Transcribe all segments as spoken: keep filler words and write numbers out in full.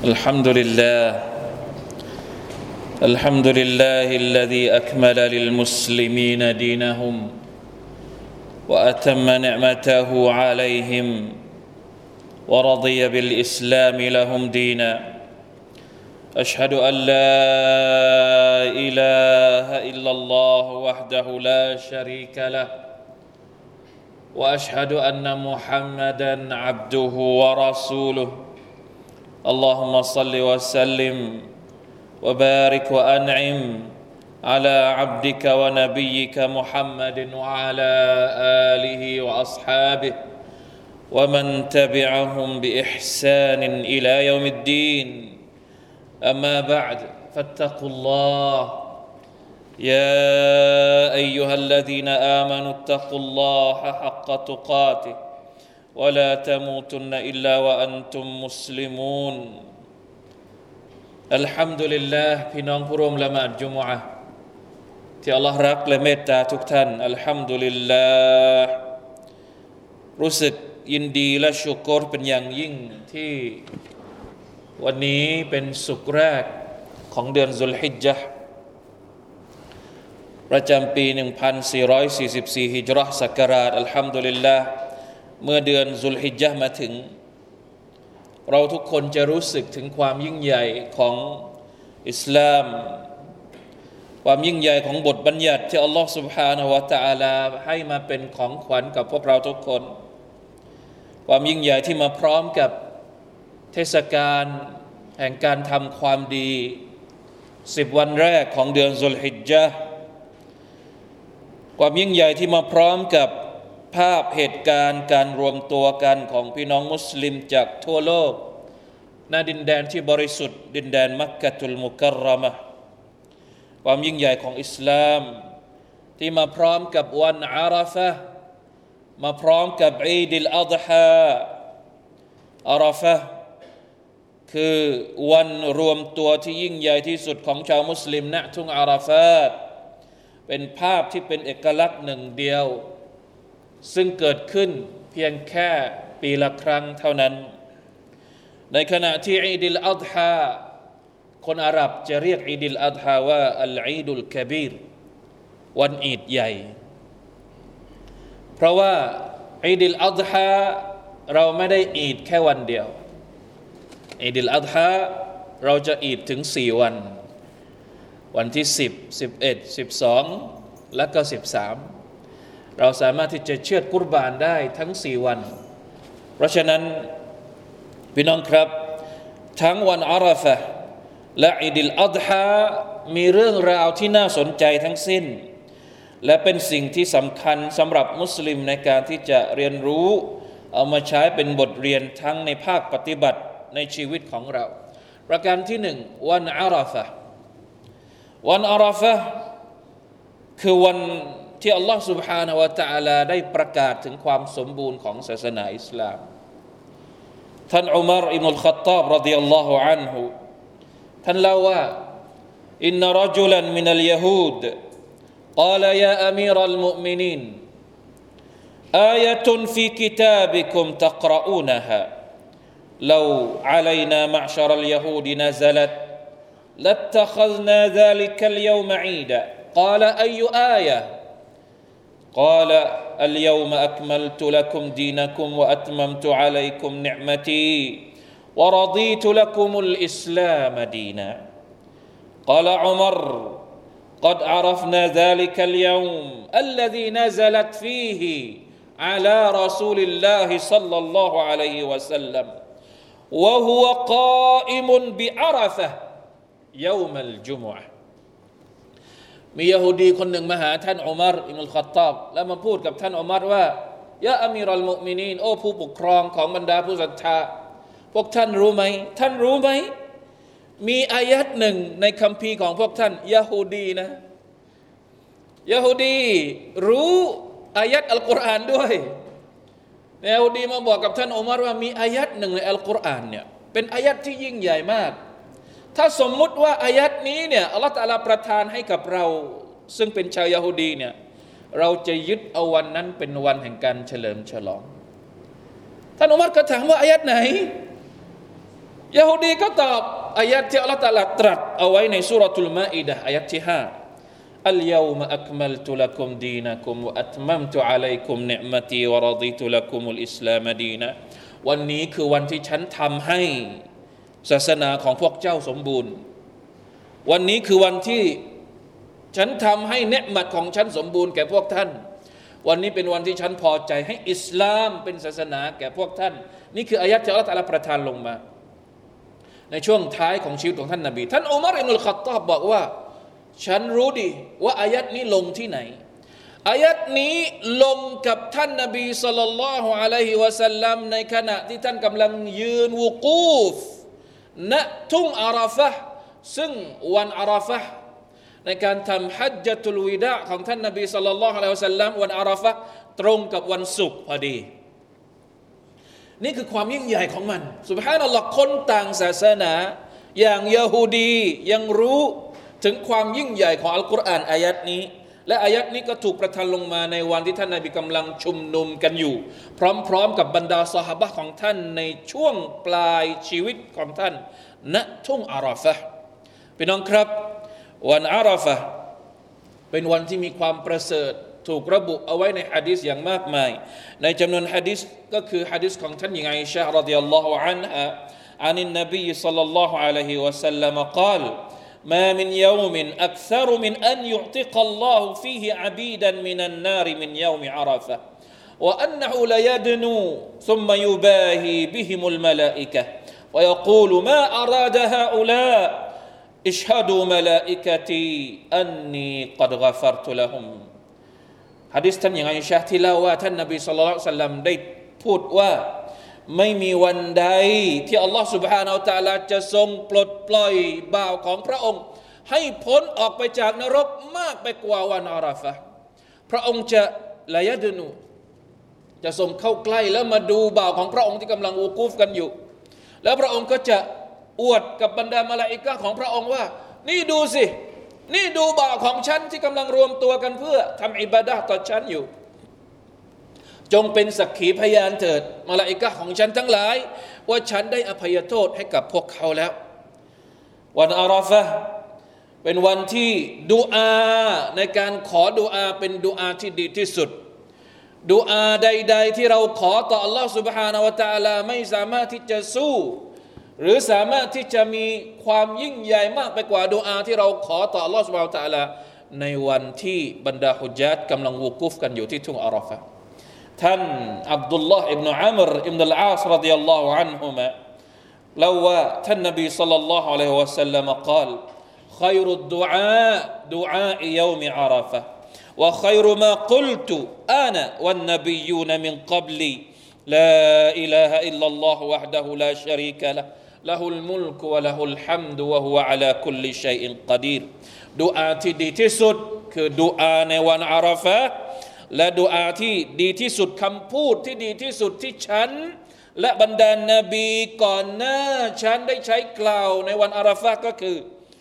الحمد لله الحمد لله الذي أكمل للمسلمين دينهم وأتم نعمته عليهم ورضي بالإسلام لهم دينا أشهد أن لا إله إلا الله وحده لا شريك له وأشهد أن محمدًا عبده ورسوله اللهم صل وسلم وبارك وأنعم على عبدك ونبيك محمد وعلى آله وأصحابه ومن تبعهم بإحسان إلى يوم الدين أما بعد فاتقوا الله يا أيها الذين آمنوا اتقوا الله حق تقاته ولا تموتن إلا وأنتم مسلمون الحمد لله พี่น้องผู้ร่วมละหมาดจุมอะห์ที่อัลเลาะห์รักและเมตตาทุกท่านอัลฮัมดุลิลลาห์รู้สึกยินดีและชุกรเป็นอย่างยิ่งที่วันนี้เป็นศุกร์แรกของเดือนซุลฮิจญะห์ประจำปีหนึ่งพันสี่ร้อยสี่สิบสี่ฮิจเราะห์ศักราชอัลฮัมดุลิลลาห์เมื่อเดือนซุลฮิจญะห์มาถึงเราทุกคนจะรู้สึกถึงความยิ่งใหญ่ของอิสลามความยิ่งใหญ่ของบทบัญญัติที่อัลลอฮฺ سبحانه และ تعالى ให้มาเป็นของขวัญกับพวกเราทุกคนความยิ่งใหญ่ที่มาพร้อมกับเทศกาลแห่งการทำความดีสิบวันแรกของเดือนซุลฮิจญะห์ความยิ่งใหญ่ที่มาพร้อมกับภาพเหตุการณ์การรวมตัวกันของพี่น้องมุสลิมจากทั่วโลกณดินแดนที่บริสุทธิ์ดินแดนมักกะตุลมุกัรเราะมะห์ความยิ่งใหญ่ของอิสลามที่มาพร้อมกับวันอาราฟะห์มาพร้อมกับอีด อัล อัฎฮาอาราฟะห์คือวันรวมตัวที่ยิ่งใหญ่ที่สุดของชาวมุสลิมณทุ่งอาราฟาตเป็นภาพที่เป็นเอกลักษณ์หนึ่งเดียวซึ่งเกิดขึ้นเพียงแค่ปีละครั้งเท่านั้นในขณะที่อีด อัล อัฎฮาคนอาหรับจะเรียกอีด อัล อัฎฮาว่าอัลอีดุลกะบีรวันอีดใหญ่เพราะว่าอีด อัล อัฎฮาเราไม่ได้อีดแค่วันเดียวอีด อัล อัฎฮาเราจะอีดถึงสี่วันวันที่สิบ สิบเอ็ด สิบสองและก็สิบสามเราสามารถที่จะเชือดกุรบานได้ทั้งสี่วันเพราะฉะนั้นพี่น้องครับทั้งวันอาราฟะห์และอีด อัล อัฎฮามีเรื่องราวที่น่าสนใจทั้งสิ้นและเป็นสิ่งที่สำคัญสำหรับมุสลิมในการที่จะเรียนรู้เอามาใช้เป็นบทเรียนทั้งในภาคปฏิบัติในชีวิตของเราประการที่หนึ่งวันอาราฟะห์วันอาราฟะห์คือวันที่อัลลอฮฺ سبحانه และ تعالى ได้ประกาศถึงความสมบูรณ์ของศาสนาอิสลามท่านอุมัรอิบนุลค็อฏฏอบรอฎิยัลลอฮุอันฮุท่านเล่าว่าอินนะรจุลันมินัลยะฮูดกาลยาอะมีรัลมุอ์มินีนอายะตุนฟีกิตาบิกุมตักรออูนะฮาلو علينا معشر اليهود نزلت لاتخذنا ذلك اليوم عيدا قال أي آية قال اليوم أكملت لكم دينكم وأتممت عليكم نعمتي ورضيت لكم الإسلام دينا قال عمر قد عرفنا ذلك اليوم الذي نزلت فيه على رسول الله صلى الله عليه وسلم وهو قائم بعرفة يوم الجمعة มียะฮูดีคนหนึ่งมาหาท่านอุมัรอิบนุลค็อฏฏอบแล้วมาพูดกับท่านอุมัรว่ายะอามีรัลมุอ์มินีนโอ้ผู้ปกครองของบรรดาผู้ศรัทธาพวกท่านรู้ไหมท่านรู้ไหมมีอายัดหนึ่งในคัมภีร์ของพวกท่านยะฮูดีนะยะฮูดีรู้อายัดอัลกุรอานด้วยยะฮูดีมาบอกกับท่านอุมัรว่ามีอายัดหนึ่งในอัลกุรอานเนี่ยเป็นอายัดที่ยิ่งใหญ่มากถ้าสมมุติว่าอายัดนี้เนี่ยอัลเลาะห์ตะอาลาประทานให้กับเราซึ่งเป็นชาวยะฮูดีเนี่ยเราจะยึดเอาวันนั้นเป็นวันแห่งการเฉลิมฉลอง ท่านอุมัรก็ถามว่าอายัดไหนยะฮูดีก็ตอบอายะห์ที่อัลเลาะห์ตะอาลาตรัสเอาไว้ในซูเราะตุลมาอิดะห์อายะห์ที่ห้าอัลยอมะอักมัลตุละกุมดีนะกุมวะอัตมัมตุอะลัยกุมนิอ์มะตีวะรฎีตุละกุมุลอิสลามดีนะวันนี้คือวันที่ฉันทำให้ศาสนาของพวกเจ้าสมบูรณ์วันนี้คือวันที่ฉันทำให้เนืมัดของฉันสมบูรณ์แก่พวกท่านวันนี้เป็นวันที่ฉันพอใจให้อิสลามเป็นศาสนาแก่พวกท่านนี่คืออายะห์ที่อัลเลาะห์ตะอาลาประทานลงมาในช่วงท้ายของชีวิตของท่านนบีท่านอุมัรอิบนุลค็อฏฏอบบอกว่าฉันรู้ดีว่าอายะห์นี้ลงที่ไหนอายะห์นี้ลงกับท่านนบีศ็อลลัลลอฮุอะลัยฮิวะซัลลัมในขณะที่ท่านกำลังยืนวุกูฟณทุ่งอาราฟะห์ซึ่งวันอาราฟะห์ในการทำฮัจญะตุลวิดาของท่านนบีศ็อลลัลลอฮุอะลัยฮิวะซัลลัมวันอาราฟะห์ตรงกับวันศุกร์พอดีนี่คือความยิ่งใหญ่ของมันซุบฮานัลลอฮ์คนต่างศาสนาอย่างยะฮูดียังรู้ถึงความยิ่งใหญ่ของอัลกุรอานอายัดนี้และอายัดนี้ก็ถูกประทานลงมาในวันที่ท่านนบีกำลังชุมนุมกันอยู่พร้อมๆกับบรรดาซอฮาบะห์ของท่านในช่วงปลายชีวิตของท่านณทุ่งอาราฟะห์พี่น้องครับวันอาราฟะห์เป็นวันที่มีความประเสริฐถูกระบุเอาไว้ในหะดีษอย่างมากมายในจำนวนหะดีษก็คือหะดีษของท่านหญิงอิชาอ์รอฎิยัลลอฮุอันฮาอันนบีศ็อลลัลลอฮุอะลัยฮิวะซัลลัมกล่าวما من يوم أكثر من أن يعتق الله فيه عبيدا من النار من يوم عرفة وأنه ليدنو ثم يباهي بهم الملائكة ويقول ما أراد هؤلاء اشهدوا ملائكتي أني قد غفرت لهم หะดีษท่านหญิงอิชาที่เล่าว่าท่านนบีศ็อลลัลลอฮุอะลัยฮิวะซัลลัมได้พูดว่าไม่มีวันใดที่อัลลอฮฺ سبحانه และ تعالى จะทรงปลดปล่อยบ่าวของพระองค์ให้พ้นออกไปจากนรกมากไปกว่าวันอาราฟะห์พระองค์จะละยะดนูจะทรงเข้าใกล้แล้วมาดูบ่าวของพระองค์ที่กำลังวูกูฟกันอยู่แล้วพระองค์ก็จะอวดกับบรรดามลาอิกะห์ของพระองค์ว่านี่ดูสินี่ดูบ่าวของฉันที่กำลังรวมตัวกันเพื่อทำอิบาดะห์ต่อฉันอยู่จงเป็นสักขีพยานเถิดมลาอิกะห์ของฉันทั้งหลายว่าฉันได้อภัยโทษให้กับพวกเขาแล้ววันอาราฟะห์เป็นวันที่ดุอาในการขอดุอาเป็นดุอาที่ดีที่สุดดุอาใดๆที่เราขอต่อ Allah سبحانه และ تعالى ไม่สามารถที่จะสู้หรือสามารถที่จะมีความยิ่งใหญ่มากไปกว่าดุอาที่เราขอต่อ Allah سبحانه และ تعالى ในวันที่บรรดาฮุญญาตกำลังวูกูฟกันอยู่ที่ทุ่งอาราฟะห์ท่านอับดุลลอฮ์อิบนุอัมรอิบนุลอาศรฎิยัลลอฮุอันฮุมะเล่าว่าท่านนบีศ็อลลัลลอฮุอะลัยฮิวะซัลลัมกล่าวخير الدعاء دعاء يوم عرفة وخير ما قلت أنا والنبيون من قبلي لا إله إلا الله وحده لا شريك له له الملك وله الحمد وهو على كل شيء قدير ดุอาที่ดีที่สุดคือดุอาในวันอาราฟะห์และดุอาที่ดีที่สุดคำพูดที่ดีที่สุดที่ฉันและบรรดานนบีก่อนหน้าฉันได้ใช้กล่าวในวันอาราฟะห์ก็คือ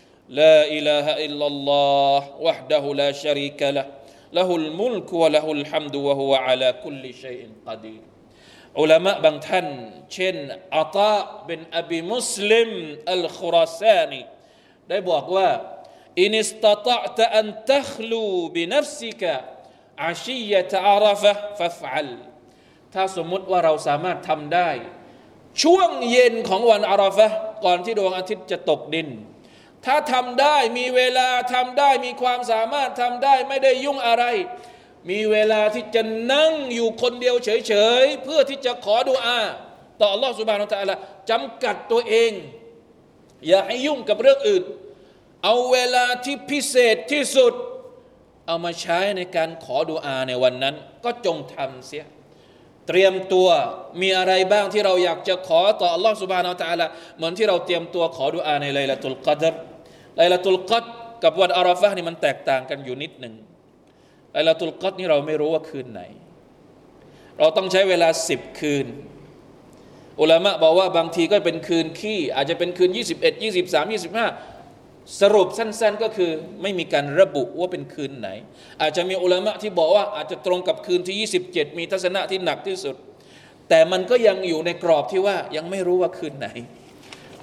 لا إله إلا الله وحده لا شريك له له الملك وله الحمد وهو على كل شيء قدير อุลามะบางท่านเช่นอัตาบินอบีมุสลิมอัลคุราซานีได้บอกว่าอินอิสตะตะตะอันตัคลูบินัฟซิกะอาชียะตะอาราฟะห์ฟัฟอัลถ้าสมมุติว่าเราสามารถทำได้ช่วงเย็นของวันอาราฟะห์ก่อนที่ดวงอาทิตย์จะตกดินถ้าทำได้มีเวลาทำได้มีความสามารถทำได้ไม่ได้ยุ่งอะไรมีเวลาที่จะนั่งอยู่คนเดียวเฉยๆเพื่อที่จะขอดุอาต่อ Allah Subhanahu Wa Taala จำกัดตัวเองอย่าให้ยุ่งกับเรื่องอื่นเอาเวลาที่พิเศษที่สุดเอามาใช้ในการขอดุอาในวันนั้นก็จงทำเสียเตรียมตัวมีอะไรบ้างที่เราอยากจะขอต่อ Allah Subhanahu Wa Taala เหมือนที่เราเตรียมตัวขอดุอาในไลลาตุลกอดรไลลาตุลกอดรกับวันอาราฟะห์นี่มันแตกต่างกันอยู่นิดหนึ่งไลลาตุลกอดรนี่เราไม่รู้ว่าคืนไหนเราต้องใช้เวลาสิบคืนอุลามะบอกว่าบางทีก็เป็นคืนขี้อาจจะเป็นคืนยี่สิบเอ็ด ยี่สิบสาม ยี่สิบห้าสรุปสั้นๆก็คือไม่มีการระบุว่าเป็นคืนไหนอาจจะมีอุลามะที่บอกว่าอาจจะตรงกับคืนที่ยี่สิบเจ็ดมีทัศนะที่หนักที่สุดแต่มันก็ยังอยู่ในกรอบที่ว่ายังไม่รู้ว่าคืนไหน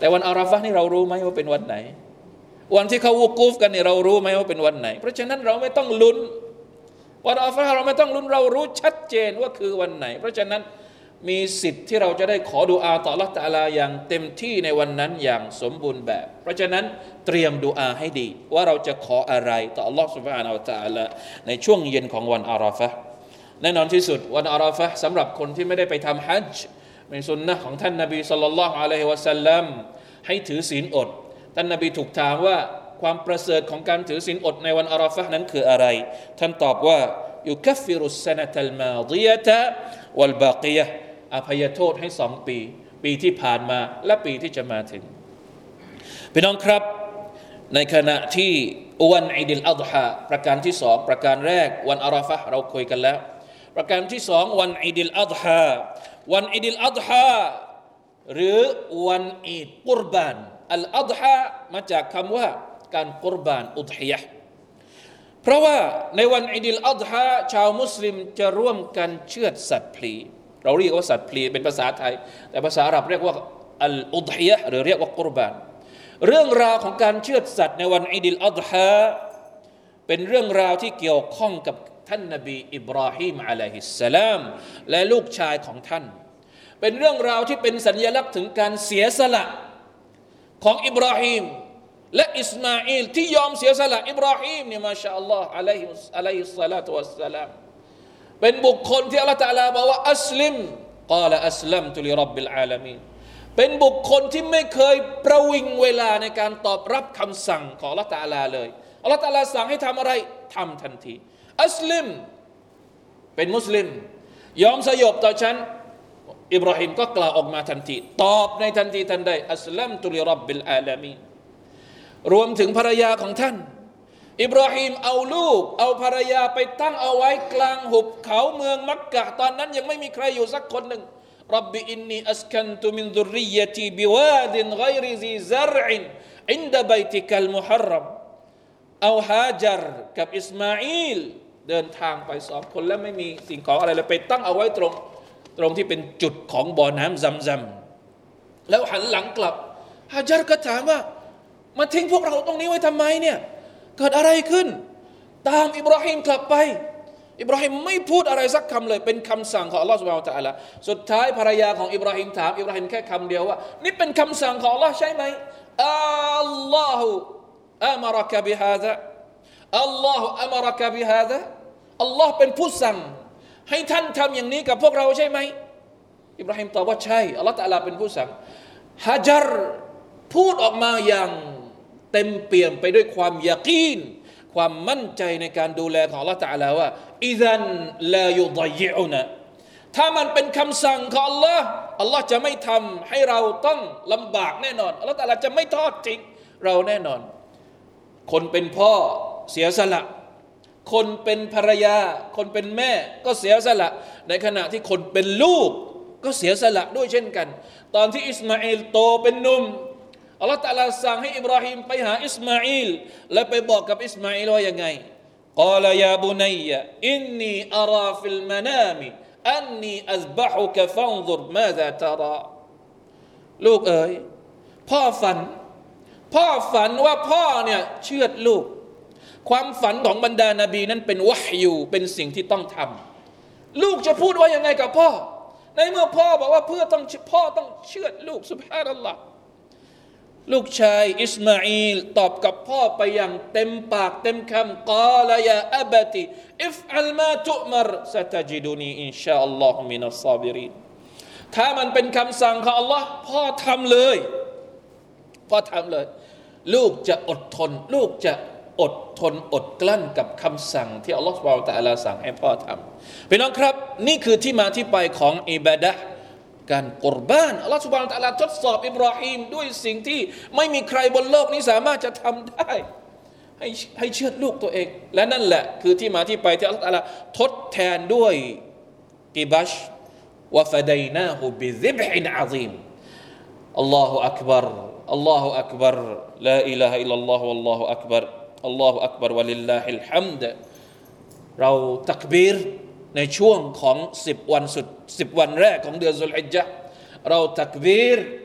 แต่วันอาราฟะห์นี่เรารู้ไหมว่าเป็นวันไหนวันที่เขาวุกูฟกันเนี่ยเรารู้ไหมว่าเป็นวันไหนเพราะฉะนั้นเราไม่ต้องลุ้นวันอาราฟะห์เราไม่ต้องลุ้นเรารู้ชัดเจนว่าคือวันไหนเพราะฉะนั้นมีสิทธิ์ที่เราจะได้ขอดุอาต่ออัลเลาะห์ตะอาลาอย่างเต็มที่ในวันนั้นอย่างสมบูรณ์แบบเพราะฉะนั้นเตรียมดุอาให้ดีว่าเราจะขออะไรต่ออัลเลาะห์ซุบฮานะฮูวะตะอาลาในช่วงเย็นของวันอาราฟะห์แน่นอนที่สุดวันอาราฟะห์สำหรับคนที่ไม่ได้ไปทำฮัจญ์เป็นสุนนะห์ของท่านนบีศ็อลลัลลอฮุอะลัยฮิวะซัลลัมให้ถือศีลอดท่านนบีถูกถามว่าความประเสริฐของการถือศีลอดในวันอาราฟะห์นั้นคืออะไรท่านตอบว่ายุคัฟฟิรุสซะนะตัลมาฎิยะตะวัลบากิยะห์อภัยโทษให้สองปีปีที่ผ่านมาและปีที่จะมาถึงพี่น้องครับในขณะที่วันอีดิลอัฎฮาประการที่สองประการแรกวันอาราฟะห์เราคุยกันแล้วประการที่สองวันอีดิลอัฎฮาวันอีดิลอัฎฮาหรือวันอีดกุรบานอัลอัฎฮามาจากคำว่าการกุรบานอุฎฮิยะห์เพราะว่าในวันอีดิลอัฎฮาชาวมุสลิมจะร่วมกันเชือดสัตว์พลีเราเรียกว่าสัตว์พลีเป็นภาษาไทยแต่ภาษาอาหรับเรียกว่าอัลอุฎฮิยะห์หรือเรียกว่ากุรบานเรื่องราวของการเชือดสัตว์ในวันอีดิลอัฎฮาเป็นเรื่องราวที่เกี่ยวข้องกับท่านนบีอิบราฮิมอะลัยฮิสสลามและลูกชายของท่านเป็นเรื่องราวที่เป็นสัญลักษณ์ถึงการเสียสละของอิบราฮิมและอิสมาอีลที่ยอมเสียสละอิบราฮิมเนี่ยมาชาอัลลอฮ์อะลัยฮิอะลัยฮิสซะลาตุวัสสลามเป็นบุคคลที่อัลเลาะห์ตะอาลาบอกว่าอัสลิมกาลอัสลัมตุลิร็อบบิลอาลามีนเป็นบุคคลที่ไม่เคยประวิงเวลาในการตอบรับคำสั่งของอัลเลาะห์ตะอาลาเลยอัลเลาะห์ตะอาลาสั่งให้ทำอะไรทำทันทีอัสลิมเป็นมุสลิมยอมสยบต่อฉันอิบราฮิมก็กล่าวออกมาทันทีตอบในทันทีทันใดอัสลัมตุลิร็อบบิลอาลามีนรวมถึงภรรยาของท่านอิบราฮิมเอาลูกเอาภรรยาไปตั้งเอาไว้กลางหุบเขาเมืองมักกะตอนนั้นยังไม่มีใครอยู่สักคนหนึ่งรับบิอินนีอัสกันตุมินซุรริยะตีบิวาดินไกรซีซัรอินอินดะบัยติกัลมุฮัรรัมเอาฮาจรกับอิสมาอีลเดินทางไปสองคนแล้วไม่มีสิ่งของอะไรเลยไปตั้งเอาไว้ตรงตรงที่เป็นจุดของบ่อน้ำซัมซัมแล้วหันหลังกลับฮาจรก็ถามว่ามาทิ้งพวกเราตรงนี้ไว้ทำไมเนี่ยเกิดอะไรขึ้นตามอิบราฮิมกลับไปอิบราฮิมไม่พูดอะไรสักคำเลยเป็นคำสั่งของอัลลอฮฺซุบฮานะฮูวะตะอาลาสุดท้ายภรรยาของอิบราฮิมถามอิบราฮิมแค่คำเดียวว่านี่เป็นคำสั่งของอัลลอฮฺใช่ไหมอัลลอฮฺอัมรักบิฮาซาอัลลอฮฺอัมรักบิฮาซาอัลลอฮฺเป็นผู้สั่งให้ท่านทำอย่างนี้กับพวกเราใช่ไหมอิบราฮิมตอบว่าใช่อัลลอฮฺตะอาลาเป็นผู้สั่งฮะจัรพูดออกมาอย่างเต็มเปี่ยมไปด้วยความยะกีนความมั่นใจในการดูแลของอัลเลาะห์ตะอาลาว่าอิซันลายุฎยิอุนะถ้ามันเป็นคำสั่งของอัลลอฮ์อัลลอฮ์จะไม่ทำให้เราต้องลำบากแน่นอนอัลเลาะห์ตะอาลาจะไม่ทอดทิ้งเราแน่นอนคนเป็นพ่อเสียสละคนเป็นภรรยาคนเป็นแม่ก็เสียสละในขณะที่คนเป็นลูกก็เสียสละด้วยเช่นกันตอนที่อิสมาอีลโตเป็นหนุ่มอัลลอฮฺตะอาลาสั่งให้อิบราฮิมไปหาอิสมาอีลและไปบอกกับอิสมาอีลว่ายังไงกล่าว ยาบุนัยอินนีอาราฟิลมะนามิอันนีอัซบะฮุกะฟันซุรมาซาตาราลูกเอ๋ยพ่อฝันพ่อฝันว่าพ่อเนี่ยเชือดลูกความฝันของบรรดานบีนั้นเป็นวะฮยูเป็นสิ่งที่ต้องทำลูกจะพูดว่ายังไงกับพ่อในเมื่อพ่อบอกว่าเพื่อต้องพ่อต้องเชือดลูกซุบฮานัลลอฮ์ลูกชายอิสมาอีลตอบกับพ่อไปอย่างเต็มปากเต็มคำกล่าวยาอับติอิฟอัลมาตุอ์มรซะตะจิดุนีอินชาอัลลอฮุมินัสซาบิรินถ้ามันเป็นคำสั่งของอัลลอฮ์พ่อทำเลยพ่อทำเลยลูกจะอดทนลูกจะอดทนอดกลั้นกับคำสั่งที่อัลลอฮฺซุบฮานะฮูวะตะอาลาสั่งให้พ่อทำพี่น้องครับนี่คือที่มาที่ไปของอิบาดะห์การกุรบานอัลลอฮฺซุบฮานะฮูวะตะอาลาทดสอบอิบราฮิมด้วยสิ่งที่ไม่มีใครบนโลกนี้สามารถจะทำได้ให้ให้เชือดลูกตัวเองและนั่นแหละคือที่มาที่ไปที่อัลลอฮฺตะอาลาทดแทนด้วยกิบัชวะฟะดัยนาฮูบิซิบฮินอะซีมอัลลอฮุอักบัรอัลลอฮุอักบัรลาอิลาฮะอิลลัลลอฮุวัลลอฮุอักบัรอัลลอฮุอักบัรวะลิลลาฮิลฮัมดเราตักบีรในช่วงของสิบวันสุดสิบวันแรกของเดือนซุลฮิจญะห์เราตักบีร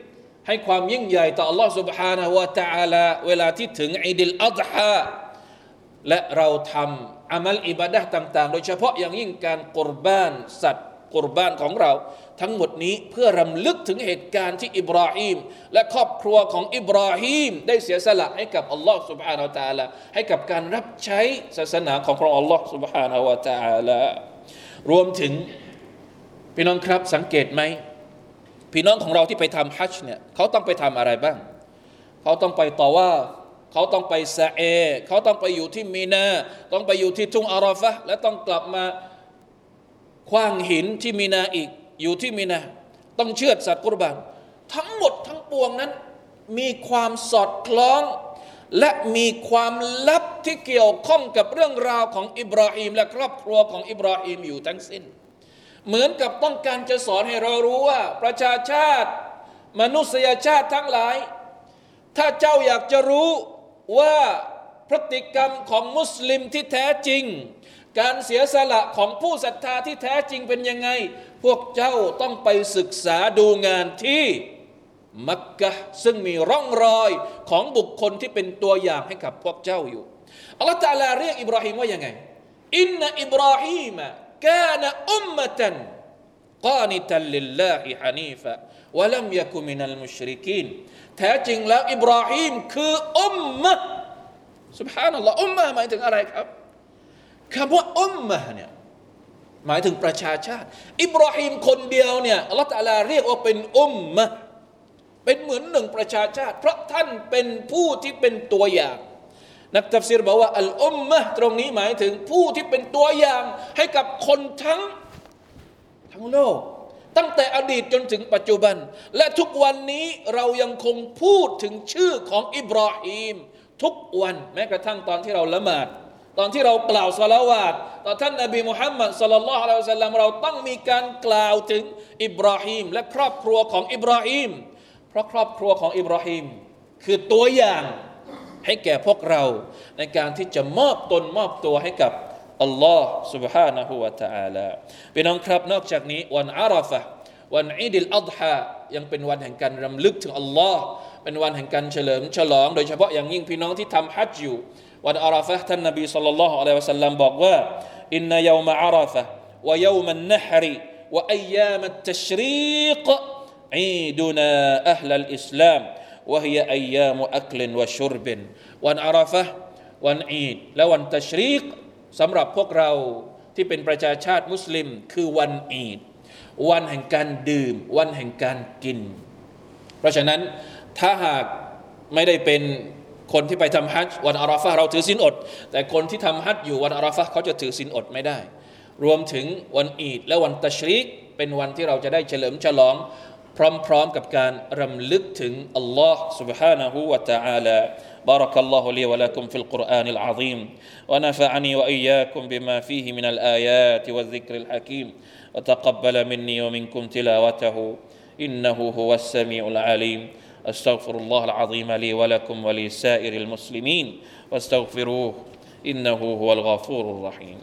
ให้ความยิ่งใหญ่ต่อ Allah سبحانه และ تعالى เวลาที่ถึงอีดิลอัฎฮาและเราทำอามัลอิบาดะห์ต่างๆโดยเฉพาะอย่างยิ่งการกุรบานสัตว์กุรบานของเราทั้งหมดนี้เพื่อรำลึกถึงเหตุการณ์ที่อิบราฮิมและครอบครัวของอิบราฮิมได้เสียสละให้กับอัลลอฮ์ سبحانه และ تعالى ให้กับการรับใช้ศาสนาของพระองค์อัลลอฮ์ سبحانه และ تعالى รวมถึงพี่น้องครับสังเกตไหมพี่น้องของเราที่ไปทำฮัจญ์เนี่ยเขาต้องไปทำอะไรบ้างเขาต้องไปตอวาฟเขาต้องไปซะเอเขาต้องไปอยู่ที่มีนาต้องไปอยู่ที่ทุ่งอาราฟะห์และต้องกลับมาขว้างหินที่มีนาอีกอยู่ที่มีนาต้องเชือดสัตว์กุรบานทั้งหมดทั้งปวงนั้นมีความสอดคล้องและมีความลับที่เกี่ยวข้องกับเรื่องราวของอิบราฮิมและครอบครัวของอิบราฮิมอยู่ทั้งสิ้นเหมือนกับต้องการจะสอนให้เรารู้ว่าประชาชาติมนุษยชาติทั้งหลายถ้าเจ้าอยากจะรู้ว่าพฤติกรรมของมุสลิมที่แท้จริงการเสียสละของผู้ศรัทธาที่แท้จริงเป็นยังไงพวกเจ้าต้องไปศึกษาดูงานที่มักกะฮ์ซึ่งมีร่องรอยของบุคคลที่เป็นตัวอย่างให้กับพวกเจ้าอยู่อัลลอฮฺตะอาลาเรียกอิบราฮิมว่ายังไงอินนะอิบราฮิมกานะอุมมะตันกานิตันลิลลาฮิฮะนีฟะวะลัมยะกุมินัลมุชริกีนแท้จริงแล้วอิบราฮิมคืออุมมะห์ซุบฮานัลลอฮ์อุมมะห์หมายถึงอะไรครับคำว่าอุมมะห์เนี่ยหมายถึงประชาชาติอิบราฮิมคนเดียวเนี่ยอัลเลาะห์ตะอาลาเรียกว่าเป็นอุมมะห์เป็นเหมือนหนึ่งประชาชาติเพราะท่านเป็นผู้ที่เป็นตัวอย่างนักตัฟซีรบอกว่าอัลอุมมะห์ตรงนี้หมายถึงผู้ที่เป็นตัวอย่างให้กับคนทั้งทั้งโลกตั้งแต่อดีตจนถึงปัจจุบันและทุกวันนี้เรายังคงพูดถึงชื่อของอิบราฮิมทุกวันแม้กระทั่งตอนที่เราละหมาดตอนที่เรากล่าวศอลาวาตต่อท่านนบีมุฮัมมัดศ็อลลัลลอฮุอะลัยฮิวะซัลลัมเราต้องมีการกล่าวถึงอิบราฮิมและครอบครัวของอิบราฮิมเพราะครอบครัวของอิบราฮิมคือตัวอย่างให้แก่พวกเราในการที่จะมอบตนมอบตัวให้กับอัลลอฮ์ سبحانه และ تعالى พี่น้องครับนอกจากนี้วันอาราฟะห์วันอีดิลอัฎฮายังเป็นวันแห่งการรำลึกถึงอัลลอฮ์เป็นวันแห่งการเฉลิมฉลองโดยเฉพาะอย่างยิ่งพี่น้องที่ทำฮัจญ์อยู่วันอาราฟะห์ท่านนบีศ็อลลัลลอฮุอะลัยฮิวะซัลลัมบอกว่าอินนะยอมะอาราฟะห์วะยอมันนะฮรวะอัยยามัตตัชรีกอีดุนาอะห์ลัลอิสลามวะฮิยะอัยยามุอักลินวะชุรบินวันอาราฟะห์วันอีดและวันตัชรีกสำหรับพวกเราที่เป็นประชาชาติมุสลิมคือวันอีดวันแห่งการดื่มวันแห่งการกินเพราะฉะนั้นถ้าหากไม่ได้เป็นคนที่ไปทำฮัจญ์วันอาราฟะห์เราถือศีลอดแต่คนที่ทำฮัจญ์อยู่วันอาราฟะห์เขาจะถือศีลอดไม่ได้รวมถึงวันอีดและวันตัชรีกเป็นวันที่เราจะได้เฉลิมฉลองพร้อมๆกับการรำลึกถึงอัลลอฮ์ سبحانه และ تعالى بارك الله لي ولكم في القرآن العظيم ونفعني وإياكم بما فيه من الآيات والذكر الحكيم وتقبل مني ومنكم تلاوته إنه هو السميع العليم أستغفر الله العظيم لي ولكم ولسائر المسلمين واستغفروه إنه هو الغفور الرحيم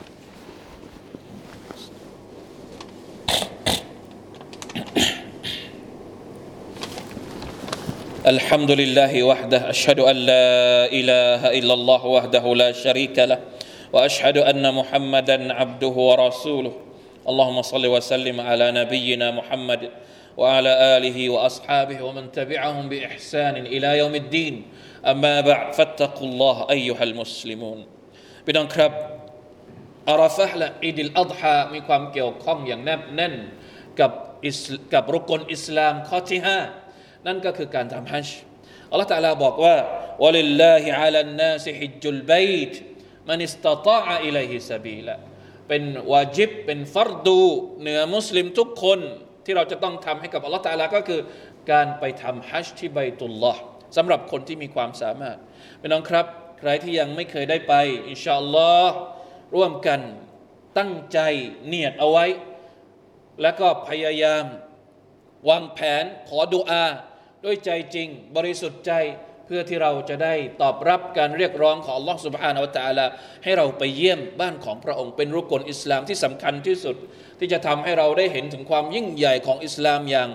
الحمد لله وحده أشهد أن لا إله إلا الله وحده لا شريك له وأشهد أن محمدا عبده ورسوله اللهم صل وسلم على نبينا محمد وعلى آله وأصحابه ومن تبعهم بإحسان إلى يوم الدين أما بعد فاتقوا الله أيها المسلمون พี่น้องครับอาราฟะห์และอีดิลอัฎฮามีความเกี่ยวข้องอย่างแนบแน่นกับกับรุกนอิสลามข้อที่ห้านั่นก็คือการทำฮัจญ์อัลเลาะห์ตะอาลาบอกว่าวะลิลลาฮิอะลันนาสฮิจจุลบัยต์มันอิสตะฏออะอิลัยฮิซะบีลาเป็นวาญิบเป็นฟัรดูเหนือมุสลิมทุกคนที่เราจะต้องทำให้กับอัลเลาะห์ตะอาลาก็คือการไปทำฮัจญ์ที่บัยตุลลอฮ์สำหรับคนที่มีความสามารถพี่น้องครับใครที่ยังไม่เคยได้ไปอินชาอัลลอฮ์ร่วมกันตั้งใจเนียดเอาไว้แล้วก็พยายามวางแผนขอดุอาด้วยใจจริงบริสุทธิ์ใจเพื่อที่เราจะได้ตอบรับการเรียกร้องของอัลลอฮฺซุบฮานะฮูวะตะอาลาให้เราไปเยี่ยมบ้านของพระองค์เป็นรุกนอิสลามที่สำคัญที่สุดที่จะทำให้เราได้เห็นถึงความยิ่งใหญ่ของอิสลามอย่าง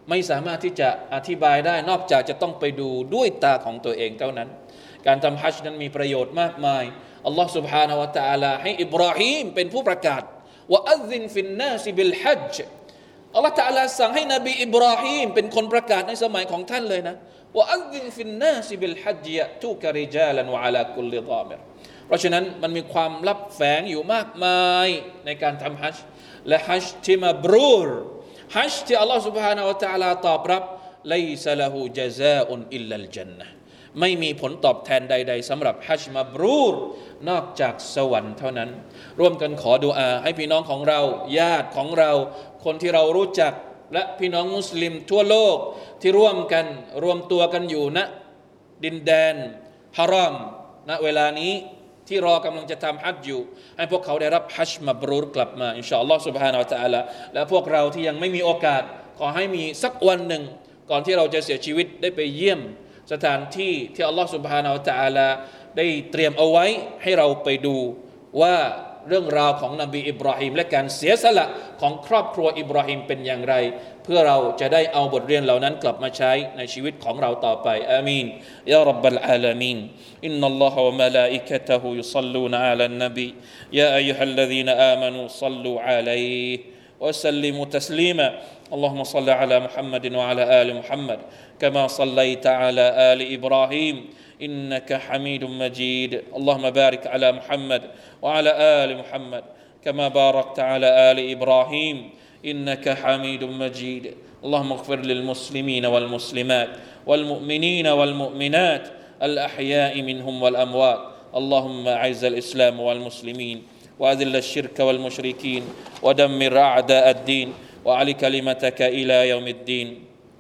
ไม่สามารถที่จะอธิบายได้นอกจากจะต้องไปดูด้วยตาของตัวเองเท่านั้นการทำฮัจญ์นั้นมีประโยชน์มากมายอัลลอฮฺ سبحانه และ تعالى ให้อิบราฮีมเป็นผู้ประกาศว่าอัซซินฟินนาซิบิลฮัจญ์อัลลอฮฺ تعالى สั่งให้นบีอิบราฮีมเป็นคนประกาศในสมัยของท่านเลยนะว่าอัซซินฟินนาซิบิลฮัจญ์ยะตูกะริจาลันวะอะลากุลลิฎามิรเพราะฉะนั้นมันมีความลับแฝงอยู่มากมายในการทำฮัจญ์และฮัจญ์ที่มับรูรฮัจญ์ที่อัลลอฮฺ سبحانه และ تعالى ตอบรับไลซะละฮูญะซาอุนอิลลัลญันนะห์ไม่มีผลตอบแทนใดๆสำหรับฮัจญ์มับรูรนอกจากสวรรค์เท่านั้นร่วมกันขอดุอาให้พี่น้องของเราญาติของเราคนที่เรารู้จักและพี่น้องมุสลิมทั่วโลกที่ร่วมกันรวมตัวกันอยู่ณดินแดนฮารอมณเวลานี้ที่รอกำลังจะทำฮัจญ์อยู่ให้พวกเขาได้รับฮัจญ์มับรูรกลับมาอินชาอัลลอฮ์ سبحانه และ تعالى และพวกเราที่ยังไม่มีโอกาสขอให้มีสักวันหนึ่งก่อนที่เราจะเสียชีวิตได้ไปเยี่ยมสถานที่ที่อัลลอฮ์ سبحانه และ تعالى ได้เตรียมเอาไว้ให้เราไปดูว่าเรื่องราวของนบีอิบราฮิมและการเสียสละของครอบครัวอิบราฮิมเป็นอย่างไรเพื่อเราจะได้เอาบทเรียนเหล่านั้นกลับมาใช้ในชีวิตของเราต่อไปอามีนยาร็อบบัลอาลามีนอินนัลลอฮะวะมะลาอิกะตะฮุยุศ็อลลูนอะลันนบียาอัยยูฮัลลซีนอามานูศ็อลลูอะลัยฮิวะซัลลิมูตัสลีมา اللهم صل على محمد وعلى آل محمد كما صليت على آل إبراهيم إنك حميد مجيد اللهم بارك على محمد وعلى آل محمد كما باركت على آل إبراهيم إنك حميد مجيد اللهم اغفر للمسلمين والمسلمات والمؤمنين والمؤمنات الأحياء منهم والأموات اللهم أعز الإسلام والمسلمين وأذل الشرك والمشركين ودمر أعداء الدين وأعل كلمتك إلى يوم الدين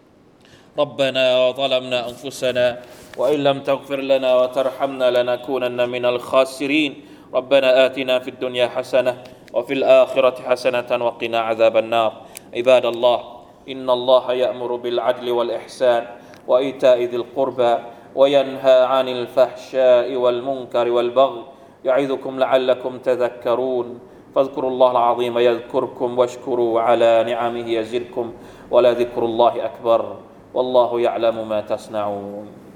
ربنا ظلمنا أنفسنا وإن لم تغفر لنا وترحمنا لنكونن من الخاسرين ربنا آتنا في الدنيا حسنة وفي الآخرة حسنة وقنا عذاب النار عباد الله إن الله يأمر بالعدل والإحسان وإيتاء ذي القربى وينهى عن الفحشاء والمنكر والبغي يعظكم لعلكم تذكرون فاذكروا الله العظيم يذكركم واشكروا على نعمه يزدكم ولذكر الله أكبر والله يعلم ما تصنعون